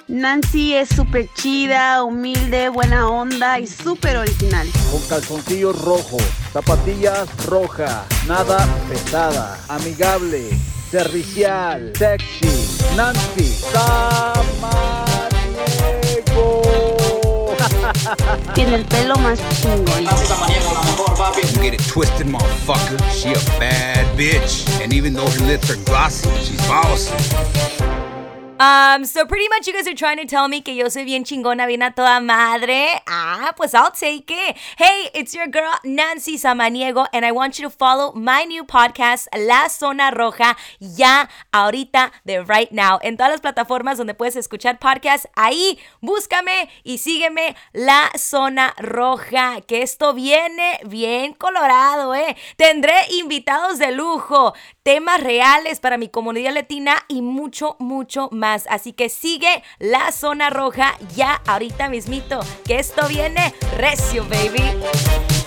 Nancy es súper chida, humilde, buena onda y súper original. Con calzoncillos rojos, zapatillas rojas, nada pesada, amigable, servicial, sexy, Nancy Samaniego. Tiene el pelo más chingón. Nancy Samaniego, la mejor, papi. Don't get it twisted, motherfucker. She a bad bitch. And even though her lips are glossy, she's bossy. So pretty much you guys are trying to tell me que yo soy bien chingona, bien a toda madre. Pues I'll take it. Hey, it's your girl, Nancy Samaniego, and I want you to follow my new podcast, La Zona Roja, ya, ahorita, de right now. En todas las plataformas donde puedes escuchar podcasts, ahí, búscame y sígueme, La Zona Roja, que esto viene bien colorado, Tendré invitados de lujo, temas reales para mi comunidad latina y mucho, mucho más. Así que sigue La Zona Roja ya ahorita mismito, que esto viene recio, baby.